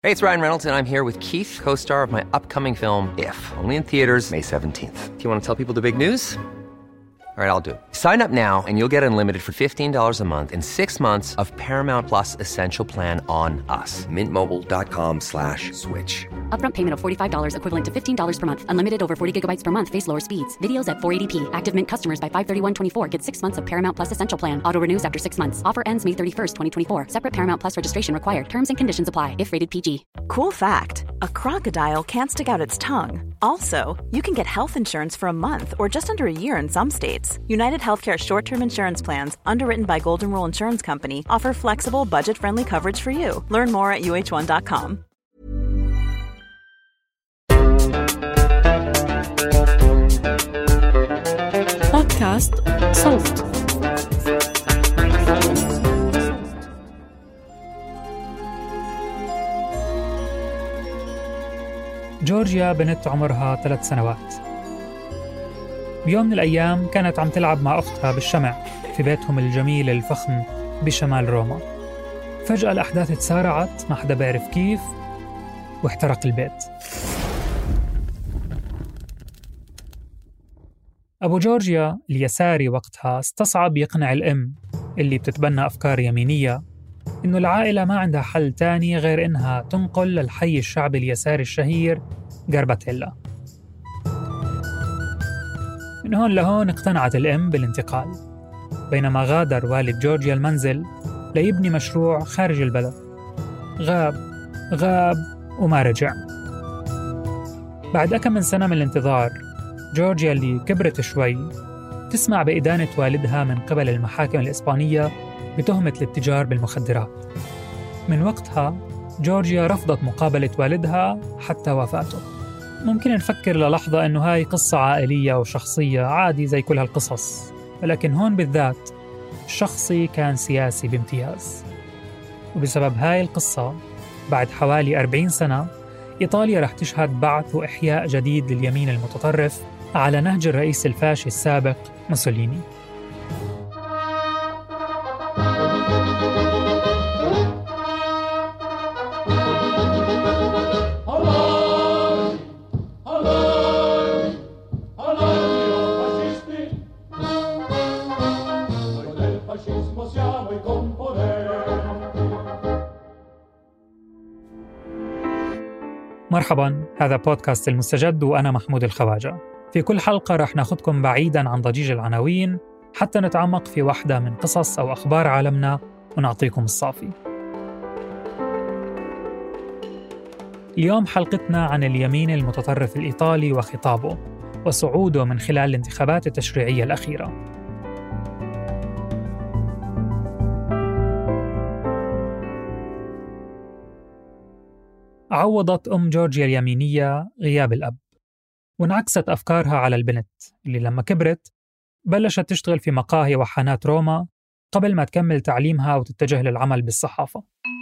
Hey, it's Ryan Reynolds, and I'm here with Keith, co-star of my upcoming film, If, only in theaters May 17th. Do you want to tell people the big news? All right, I'll do it. Sign up now and you'll get unlimited for $15 a month and 6 months of Paramount Plus Essential Plan on us. MintMobile.com/switch. Upfront payment of $45 equivalent to $15 per month. Unlimited over 40 gigabytes per month. Face lower speeds. Videos at 480p. Active Mint customers by 531.24 get 6 months of Paramount Plus Essential Plan. Auto renews after 6 months. Offer ends May 31st, 2024. Separate Paramount Plus registration required. Terms and conditions apply if rated PG. Cool fact, a crocodile can't stick out its tongue. Also, you can get health insurance for a month or just under a year in some states. United Healthcare short-term insurance plans, underwritten by Golden Rule Insurance Company, offer flexible, budget-friendly coverage for you. Learn more at uh1.com. بودكاست صوت. جورجيا بنت عمرها 3 سنوات. بيوم من الأيام كانت عم تلعب مع أختها بالشمع في بيتهم الجميل الفخم بشمال روما. فجأة الأحداث تسارعت، ما حدا بيعرف كيف، واحترق البيت. أبو جورجيا اليساري وقتها استصعب يقنع الأم اللي بتتبنى أفكار يمينية إنه العائلة ما عندها حل تاني غير إنها تنقل للحي الشعبي اليساري الشهير غارباتيلا. من هون لهون اقتنعت الأم بالانتقال، بينما غادر والد جورجيا المنزل ليبني مشروع خارج البلد. غاب وما رجع. بعد أكم من سنة من الانتظار، جورجيا اللي كبرت شوي تسمع بإدانة والدها من قبل المحاكم الإسبانية بتهمة الاتجار بالمخدرات. من وقتها جورجيا رفضت مقابلة والدها حتى وفاته. ممكن نفكر للحظة إنه هاي قصة عائلية وشخصية عادي زي كل هالقصص، ولكن هون بالذات الشخصي كان سياسي بامتياز. وبسبب هاي القصة بعد حوالي 40 سنة إيطاليا رح تشهد بعث وإحياء جديد لليمين المتطرف على نهج الرئيس الفاشي السابق موسوليني. مرحباً، هذا بودكاست المستجد وأنا محمود الخواجة. في كل حلقة رح ناخدكم بعيداً عن ضجيج العناوين حتى نتعمق في واحدة من قصص أو أخبار عالمنا ونعطيكم الصافي. اليوم حلقتنا عن اليمين المتطرف الإيطالي وخطابه وصعوده من خلال الانتخابات التشريعية الأخيرة. عوضت أم جورجيا اليمينية غياب الأب، وانعكست أفكارها على البنت اللي لما كبرت بلشت تشتغل في مقاهي وحانات روما قبل ما تكمل تعليمها وتتجه للعمل بالصحافة.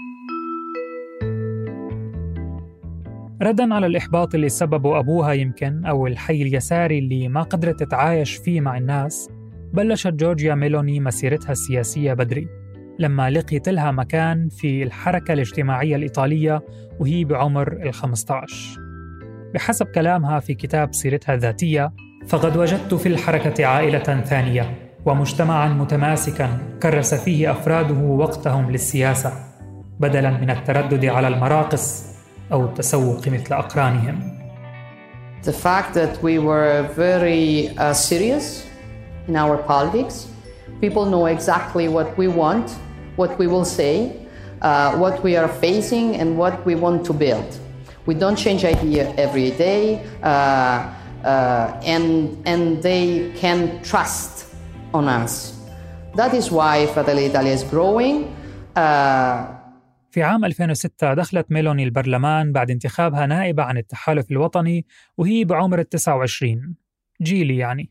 رداً على الإحباط اللي سببه أبوها يمكن أو الحي اليساري اللي ما قدرت تتعايش فيه مع الناس، بلشت جورجيا ميلوني مسيرتها السياسية بدري لما لقيت لها مكان في الحركة الاجتماعية الإيطالية وهي بعمر 15. بحسب كلامها في كتاب سيرتها الذاتية: فقد وجدت في الحركة عائلة ثانية ومجتمعاً متماسكاً كرس فيه أفراده وقتهم للسياسة بدلاً من التردد على المراقص أو التسوق مثل أقرانهم. The fact that we were very serious in our politics. People know exactly what we want, what we will say, what we are facing, and what we want to build. We don't change idea every day, and they can trust on us. That is why Fratelli Italia is growing. في عام 2006 دخلت ميلوني البرلمان بعد انتخابها نائبة عن التحالف الوطني وهي بعمر 29، جيلي يعني.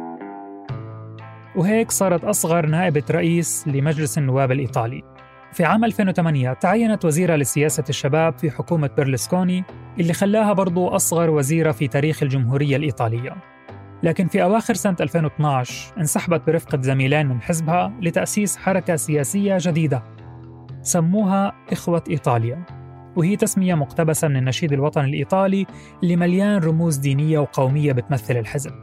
وهيك صارت أصغر نائبة رئيس لمجلس النواب الإيطالي. في عام 2008 تعينت وزيرة لسياسة الشباب في حكومة بيرلسكوني اللي خلاها برضو أصغر وزيرة في تاريخ الجمهورية الإيطالية. لكن في أواخر سنة 2012 انسحبت برفقة زميلين من حزبها لتأسيس حركة سياسية جديدة سموها إخوة إيطاليا، وهي تسمية مقتبسة من النشيد الوطني الإيطالي اللي مليان رموز دينية وقومية بتمثل الحزب.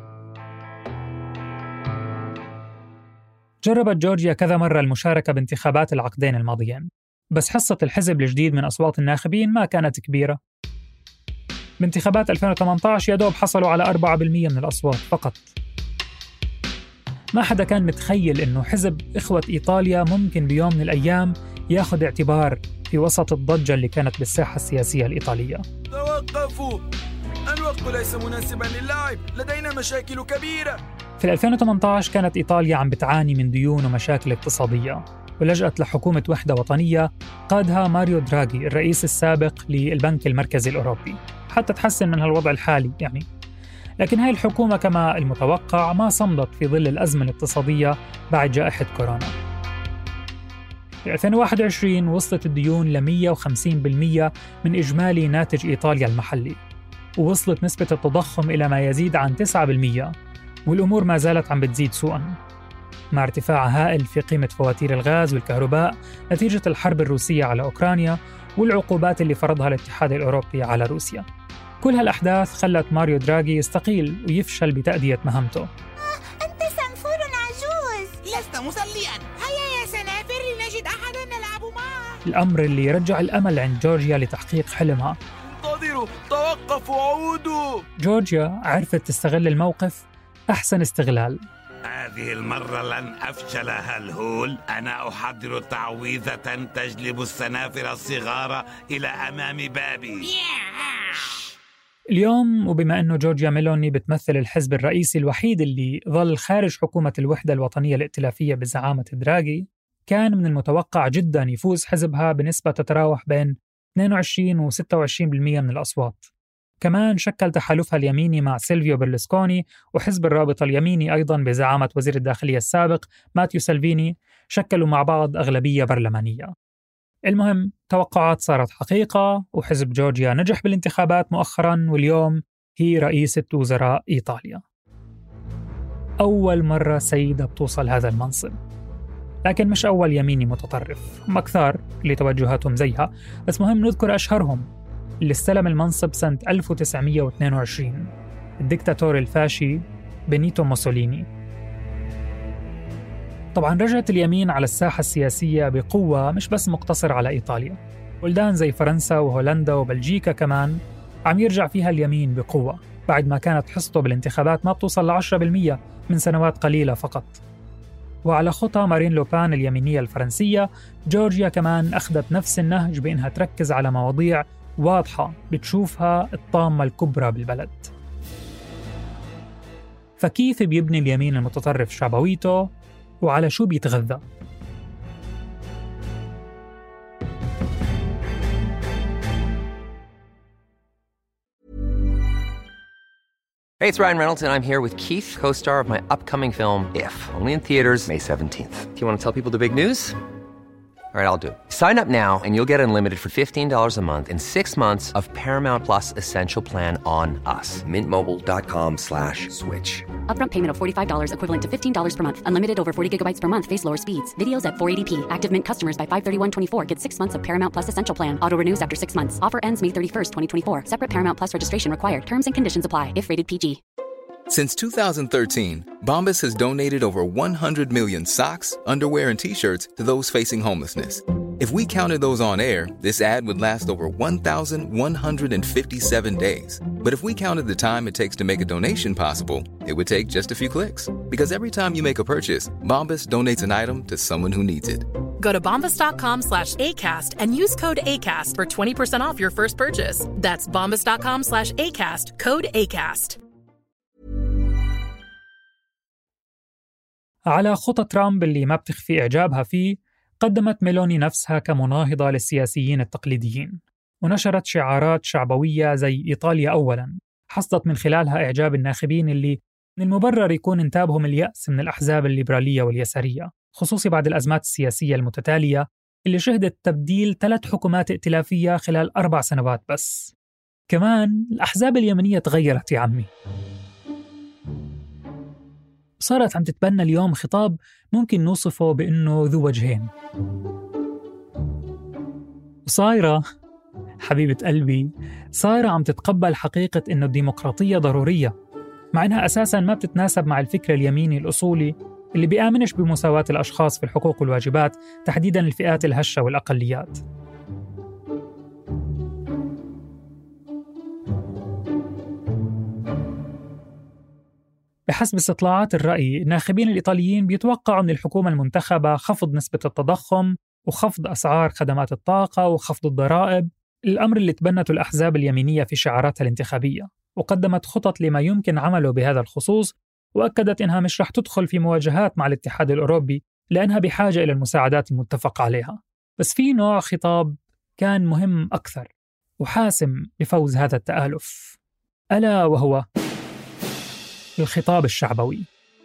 جربت جورجيا كذا مرة المشاركة بانتخابات العقدين الماضيين، بس حصة الحزب الجديد من أصوات الناخبين ما كانت كبيرة. بانتخابات 2018 يدوب حصلوا على 4% من الأصوات فقط. ما حدا كان متخيل إنه حزب إخوة إيطاليا ممكن بيوم من الأيام ياخد اعتبار في وسط الضجة اللي كانت بالساحة السياسية الإيطالية. توقفوا، الوقت ليس مناسباً للعب، لدينا مشاكل كبيرة. في 2018 كانت إيطاليا عم بتعاني من ديون ومشاكل اقتصادية، ولجأت لحكومة وحدة وطنية قادها ماريو دراغي الرئيس السابق للبنك المركزي الأوروبي حتى تحسن من هالوضع الحالي يعني. لكن هاي الحكومة كما المتوقع ما صمدت في ظل الأزمة الاقتصادية بعد جائحة كورونا. في 2021 وصلت الديون ل 150% من إجمالي ناتج إيطاليا المحلي، ووصلت نسبة التضخم إلى ما يزيد عن 9%، والأمور ما زالت عم بتزيد سوءاً مع ارتفاع هائل في قيمة فواتير الغاز والكهرباء نتيجة الحرب الروسية على أوكرانيا والعقوبات اللي فرضها الاتحاد الأوروبي على روسيا. كل هالأحداث خلت ماريو دراغي يستقيل ويفشل بتأدية مهمته. أنت صنفور عجوز. لست مصلياً. هيا يا سنافر لنجد أحداً نلعب معه. الأمر اللي يرجع الأمل عند جورجيا لتحقيق حلمها. انتظروا، توقفوا، عودوا. جورجيا عرفت تستغل الموقف أحسن استغلال. هذه المرة لن أفشل هالهول. أنا أحضر تعويذة تجلب السنافر الصغار إلى أمام بابي. اليوم وبما أنه جورجيا ميلوني بتمثل الحزب الرئيسي الوحيد اللي ظل خارج حكومة الوحدة الوطنية الائتلافية بزعامة دراغي، كان من المتوقع جدا يفوز حزبها بنسبة تتراوح بين 22 و 26% من الأصوات. كمان شكل تحالفها اليميني مع سيلفيو برلسكوني وحزب الرابطة اليميني أيضاً بزعامة وزير الداخلية السابق ماتيو سالفيني، شكلوا مع بعض أغلبية برلمانية. المهم توقعات صارت حقيقة، وحزب جورجيا نجح بالانتخابات مؤخراً، واليوم هي رئيسة وزراء إيطاليا. أول مرة سيدة بتوصل هذا المنصب، لكن مش أول يميني متطرف، هم أكثر اللي توجهاتهم زيها، بس مهم نذكر أشهرهم. اللي استلم المنصب سنة 1922 الدكتاتور الفاشي بينيتو موسوليني. طبعاً رجعت اليمين على الساحة السياسية بقوة، مش بس مقتصر على إيطاليا، بلدان زي فرنسا وهولندا وبلجيكا كمان عم يرجع فيها اليمين بقوة بعد ما كانت حصته بالانتخابات ما بتوصل ل 10% من سنوات قليلة فقط. وعلى خطى مارين لوبان اليمينية الفرنسية، جورجيا كمان أخذت نفس النهج بأنها تركز على مواضيع واضحة بتشوفها الطامة الكبرى بالبلد. فكيف بيبني اليمين المتطرف شعبويته وعلى شو بيتغذى؟ Hey, it's Ryan Reynolds, and I'm here with Keith, co-star of my upcoming film, If, only in theaters May 17th. Do you want to tell people the big news? All right, I'll do it. Sign up now and you'll get unlimited for $15 a month and 6 months of Paramount Plus Essential Plan on us. MintMobile.com/switch. Upfront payment of $45 equivalent to $15 per month. Unlimited over 40 gigabytes per month. Face lower speeds. Videos at 480p. Active Mint customers by 531.24 get 6 months of Paramount Plus Essential Plan. Auto renews after 6 months. Offer ends May 31st, 2024. Separate Paramount Plus registration required. Terms and conditions apply if rated PG. Since 2013, Bombas has donated over 100 million socks, underwear, and T-shirts to those facing homelessness. If we counted those on air, this ad would last over 1,157 days. But if we counted the time it takes to make a donation possible, it would take just a few clicks. Because every time you make a purchase, Bombas donates an item to someone who needs it. Go to bombas.com/ACAST and use code ACAST for 20% off your first purchase. That's bombas.com/ACAST, code ACAST. على خطى ترامب اللي ما بتخفي إعجابها فيه، قدمت ميلوني نفسها كمناهضة للسياسيين التقليديين، ونشرت شعارات شعبوية زي إيطاليا أولاً، حصدت من خلالها إعجاب الناخبين اللي من المبرر يكون انتابهم اليأس من الأحزاب الليبرالية واليسارية، خصوصي بعد الأزمات السياسية المتتالية اللي شهدت تبديل 3 حكومات ائتلافية خلال 4 سنوات بس. كمان الأحزاب اليمنية تغيرت يا عمي، صارت عم تتبنى اليوم خطاب ممكن نوصفه بأنه ذو وجهين، وصايرة حبيبة قلبي، صار عم تتقبل حقيقة إنه الديمقراطية ضرورية، مع إنها أساساً ما بتتناسب مع الفكر اليميني الأصولي اللي بيآمنش بمساواة الأشخاص في الحقوق والواجبات، تحديداً الفئات الهشة والأقليات. بحسب استطلاعات الرأي، الناخبين الإيطاليين بيتوقعوا من الحكومة المنتخبة خفض نسبة التضخم وخفض أسعار خدمات الطاقة وخفض الضرائب، الأمر اللي تبنته الأحزاب اليمينية في شعاراتها الانتخابية، وقدمت خطط لما يمكن عمله بهذا الخصوص، وأكدت إنها مش رح تدخل في مواجهات مع الاتحاد الأوروبي لأنها بحاجة إلى المساعدات المتفق عليها. بس في نوع خطاب كان مهم أكثر وحاسم بفوز هذا التآلف، ألا وهو الخطاب الشعبوي.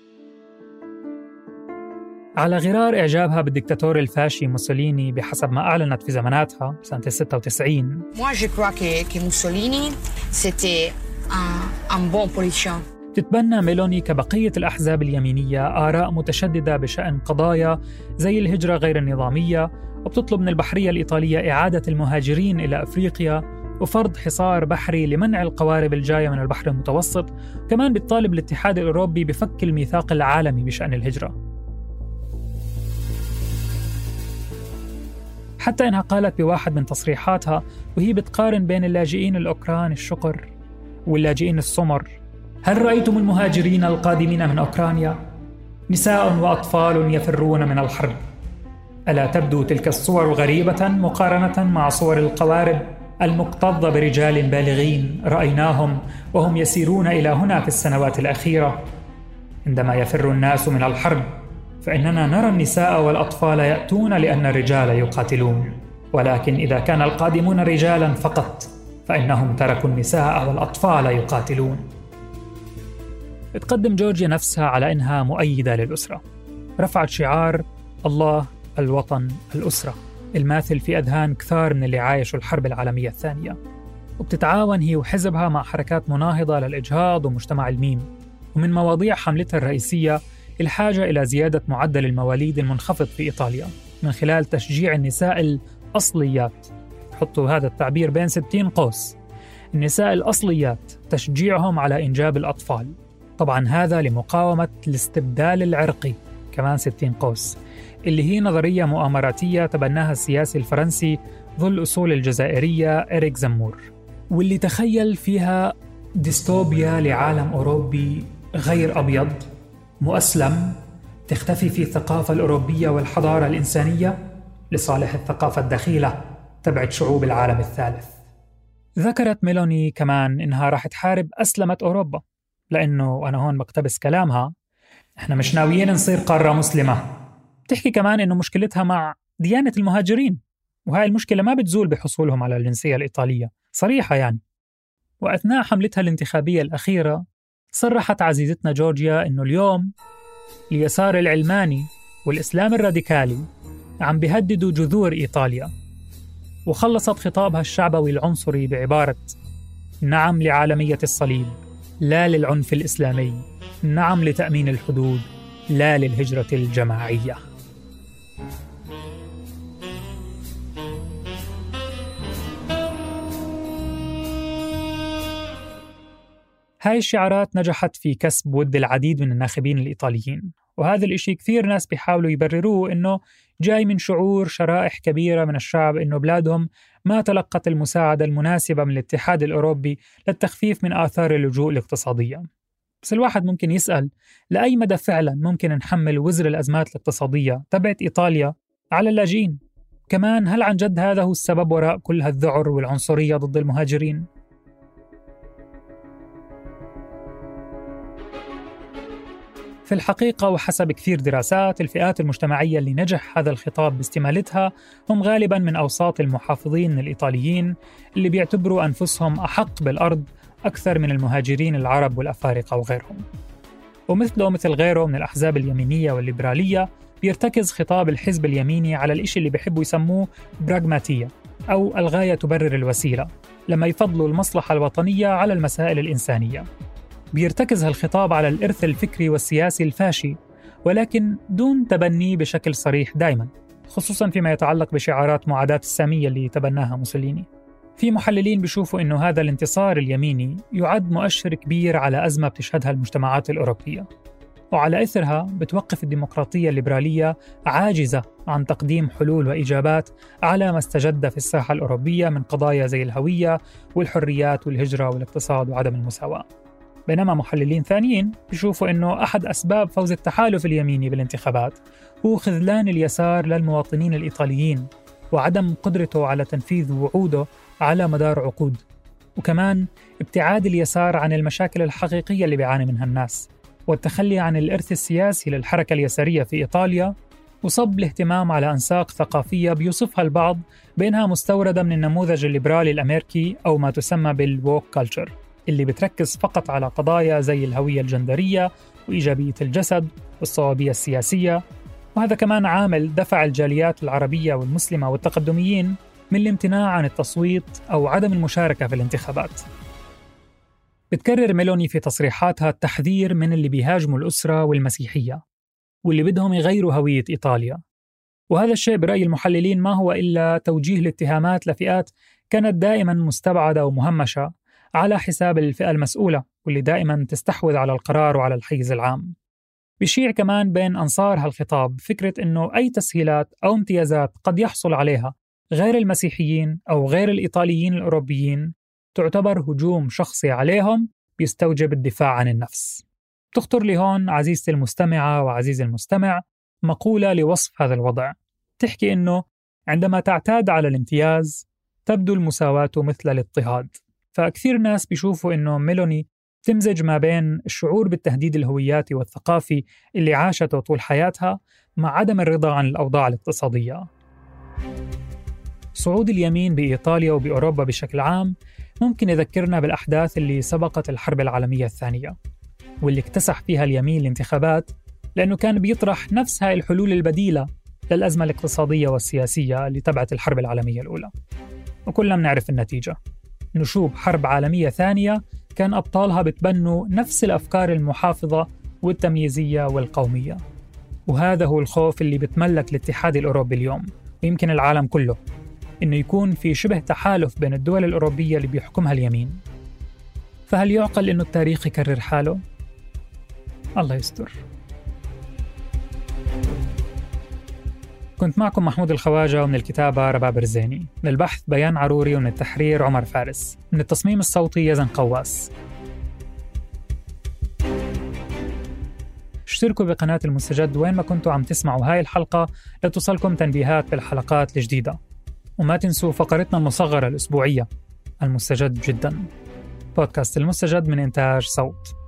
على غرار إعجابها بالدكتاتور الفاشي موسوليني بحسب ما أعلنت في زماناتها سنة 96. Moi je crois que Mussolini c'était un bon politicien. تتبنى ميلوني كبقية الأحزاب اليمينية آراء متشددة بشأن قضايا زي الهجرة غير النظامية، وبتطلب من البحرية الإيطالية إعادة المهاجرين إلى أفريقيا وفرض حصار بحري لمنع القوارب الجاية من البحر المتوسط. كمان بتطالب الاتحاد الأوروبي بفك الميثاق العالمي بشأن الهجرة. حتى إنها قالت بواحد من تصريحاتها وهي بتقارن بين اللاجئين الأوكران الشقر واللاجئين السمر: هل رأيتم المهاجرين القادمين من أوكرانيا؟ نساء وأطفال يفرون من الحرب. ألا تبدو تلك الصور غريبة مقارنة مع صور القوارب المكتظة برجال بالغين رأيناهم وهم يسيرون إلى هنا في السنوات الأخيرة؟ عندما يفر الناس من الحرب فإننا نرى النساء والأطفال يأتون لأن الرجال يقاتلون، ولكن إذا كان القادمون رجالا فقط فإنهم تركوا النساء والأطفال يقاتلون. تقدم جورجيا نفسها على إنها مؤيدة للأسرة، رفعت شعار الله الوطن الأسرة الماثل في أذهان كثار من اللي عايشوا الحرب العالمية الثانية، وبتتعاون هي وحزبها مع حركات مناهضة للإجهاض ومجتمع الميم. ومن مواضيع حملتها الرئيسية الحاجة إلى زيادة معدل المواليد المنخفض في إيطاليا من خلال تشجيع النساء الأصليات، حطوا هذا التعبير بين 60 قوس، النساء الأصليات، تشجيعهم على إنجاب الأطفال. طبعا هذا لمقاومة الاستبدال العرقي، كمان 60 قوس، اللي هي نظرية مؤامراتية تبناها السياسي الفرنسي ذو الأصول الجزائرية إريك زمور، واللي تخيل فيها ديستوبيا لعالم أوروبي غير أبيض مؤسلم تختفي فيه الثقافة الأوروبية والحضارة الإنسانية لصالح الثقافة الدخيلة تبعت شعوب العالم الثالث. ذكرت ميلوني كمان إنها راح تحارب أسلمة أوروبا، لأنه وأنا هون بقتبس كلامها: إحنا مش ناويين نصير قارة مسلمة. بتحكي كمان إنه مشكلتها مع ديانة المهاجرين، وهاي المشكلة ما بتزول بحصولهم على الجنسية الإيطالية، صريحة يعني. وأثناء حملتها الانتخابية الأخيرة صرحت عزيزتنا جورجيا إنه اليوم اليسار العلماني والإسلام الراديكالي عم بيهددوا جذور إيطاليا، وخلصت خطابها الشعبوي العنصري بعبارة: نعم لعالمية الصليب، لا للعنف الإسلامي، نعم لتأمين الحدود، لا للهجرة الجماعية. هاي الشعارات نجحت في كسب ود العديد من الناخبين الإيطاليين، وهذا الإشي كثير ناس بيحاولوا يبرروه إنه جاي من شعور شرائح كبيرة من الشعب إنه بلادهم ما تلقت المساعدة المناسبة من الاتحاد الأوروبي للتخفيف من آثار اللجوء الاقتصادية. بس الواحد ممكن يسأل لأي مدى فعلا ممكن نحمل وزر الأزمات الاقتصادية تبعت إيطاليا على اللاجئين؟ كمان هل عن جد هذا هو السبب وراء كل هالذعر والعنصرية ضد المهاجرين؟ في الحقيقة وحسب كثير دراسات، الفئات المجتمعية اللي نجح هذا الخطاب باستمالتها هم غالباً من أوساط المحافظين الإيطاليين اللي بيعتبروا أنفسهم أحق بالأرض أكثر من المهاجرين العرب والأفارقة وغيرهم. ومثله مثل غيره من الأحزاب اليمينية والليبرالية بيرتكز خطاب الحزب اليميني على الإشي اللي بيحبوا يسموه براغماتية أو الغاية تبرر الوسيلة، لما يفضلوا المصلحة الوطنية على المسائل الإنسانية. بيرتكز هالخطاب على الإرث الفكري والسياسي الفاشي، ولكن دون تبنيه بشكل صريح دائما، خصوصا فيما يتعلق بشعارات معاداة السامية اللي تبناها موسوليني. في محللين بيشوفوا إنه هذا الانتصار اليميني يعد مؤشر كبير على أزمة بتشهدها المجتمعات الأوروبية، وعلى إثرها بتوقف الديمقراطية الليبرالية عاجزة عن تقديم حلول وإجابات على ما استجد في الساحة الأوروبية من قضايا زي الهوية والحريات والهجرة والاقتصاد وعدم المساواة. بينما محللين ثانيين بيشوفوا إنه أحد أسباب فوز التحالف اليميني بالانتخابات هو خذلان اليسار للمواطنين الإيطاليين وعدم قدرته على تنفيذ وعوده على مدار عقود، وكمان ابتعاد اليسار عن المشاكل الحقيقية اللي بيعاني منها الناس، والتخلي عن الإرث السياسي للحركة اليسارية في إيطاليا، وصب الاهتمام على أنساق ثقافية بيوصفها البعض بأنها مستوردة من النموذج الليبرالي الأمريكي أو ما تسمى بالووك كالتشر، اللي بتركز فقط على قضايا زي الهوية الجندرية وإيجابية الجسد والصوابية السياسية. وهذا كمان عامل دفع الجاليات العربية والمسلمة والتقدميين من الامتناع عن التصويت أو عدم المشاركة في الانتخابات. بتكرر ميلوني في تصريحاتها التحذير من اللي بيهاجموا الأسرة والمسيحية واللي بدهم يغيروا هوية إيطاليا، وهذا الشيء برأي المحللين ما هو إلا توجيه الاتهامات لفئات كانت دائما مستبعدة ومهمشة على حساب الفئة المسؤولة واللي دائما تستحوذ على القرار وعلى الحيز العام. بيشيع كمان بين أنصار هالخطاب فكرة إنه أي تسهيلات أو امتيازات قد يحصل عليها غير المسيحيين أو غير الإيطاليين الأوروبيين تعتبر هجوم شخصي عليهم بيستوجب الدفاع عن النفس. تخطر لي هون عزيزتي المستمعة وعزيزي المستمع مقولة لوصف هذا الوضع، تحكي إنه عندما تعتاد على الامتياز تبدو المساواة مثل الاضطهاد. فكثير ناس بيشوفوا إنه ميلوني تمزج ما بين الشعور بالتهديد الهوياتي والثقافي اللي عاشته طول حياتها مع عدم الرضا عن الأوضاع الاقتصادية. صعود اليمين بإيطاليا وبأوروبا بشكل عام ممكن يذكرنا بالأحداث اللي سبقت الحرب العالمية الثانية، واللي اكتسح فيها اليمين الانتخابات لأنه كان بيطرح نفس هاي الحلول البديلة للأزمة الاقتصادية والسياسية اللي تبعت الحرب العالمية الأولى. وكلنا بنعرف النتيجة، نشوب حرب عالمية ثانية كان أبطالها بتبنوا نفس الأفكار المحافظة والتمييزية والقومية. وهذا هو الخوف اللي بتملك الاتحاد الأوروبي اليوم ويمكن العالم كله، إنه يكون في شبه تحالف بين الدول الأوروبية اللي بيحكمها اليمين. فهل يعقل إنه التاريخ يكرر حاله؟ الله يستر. كنت معكم محمود الخواجة، ومن الكتابة رباب رزيني، من البحث بيان عروري، ومن التحرير عمر فارس، من التصميم الصوتي يزن قواس. اشتركوا بقناة المستجد وين ما كنتوا عم تسمعوا هاي الحلقة لتصلكم تنبيهات بالحلقات الجديدة. وما تنسوا فقرتنا المصغرة الأسبوعية المستجد جدا. بودكاست المستجد من إنتاج صوت.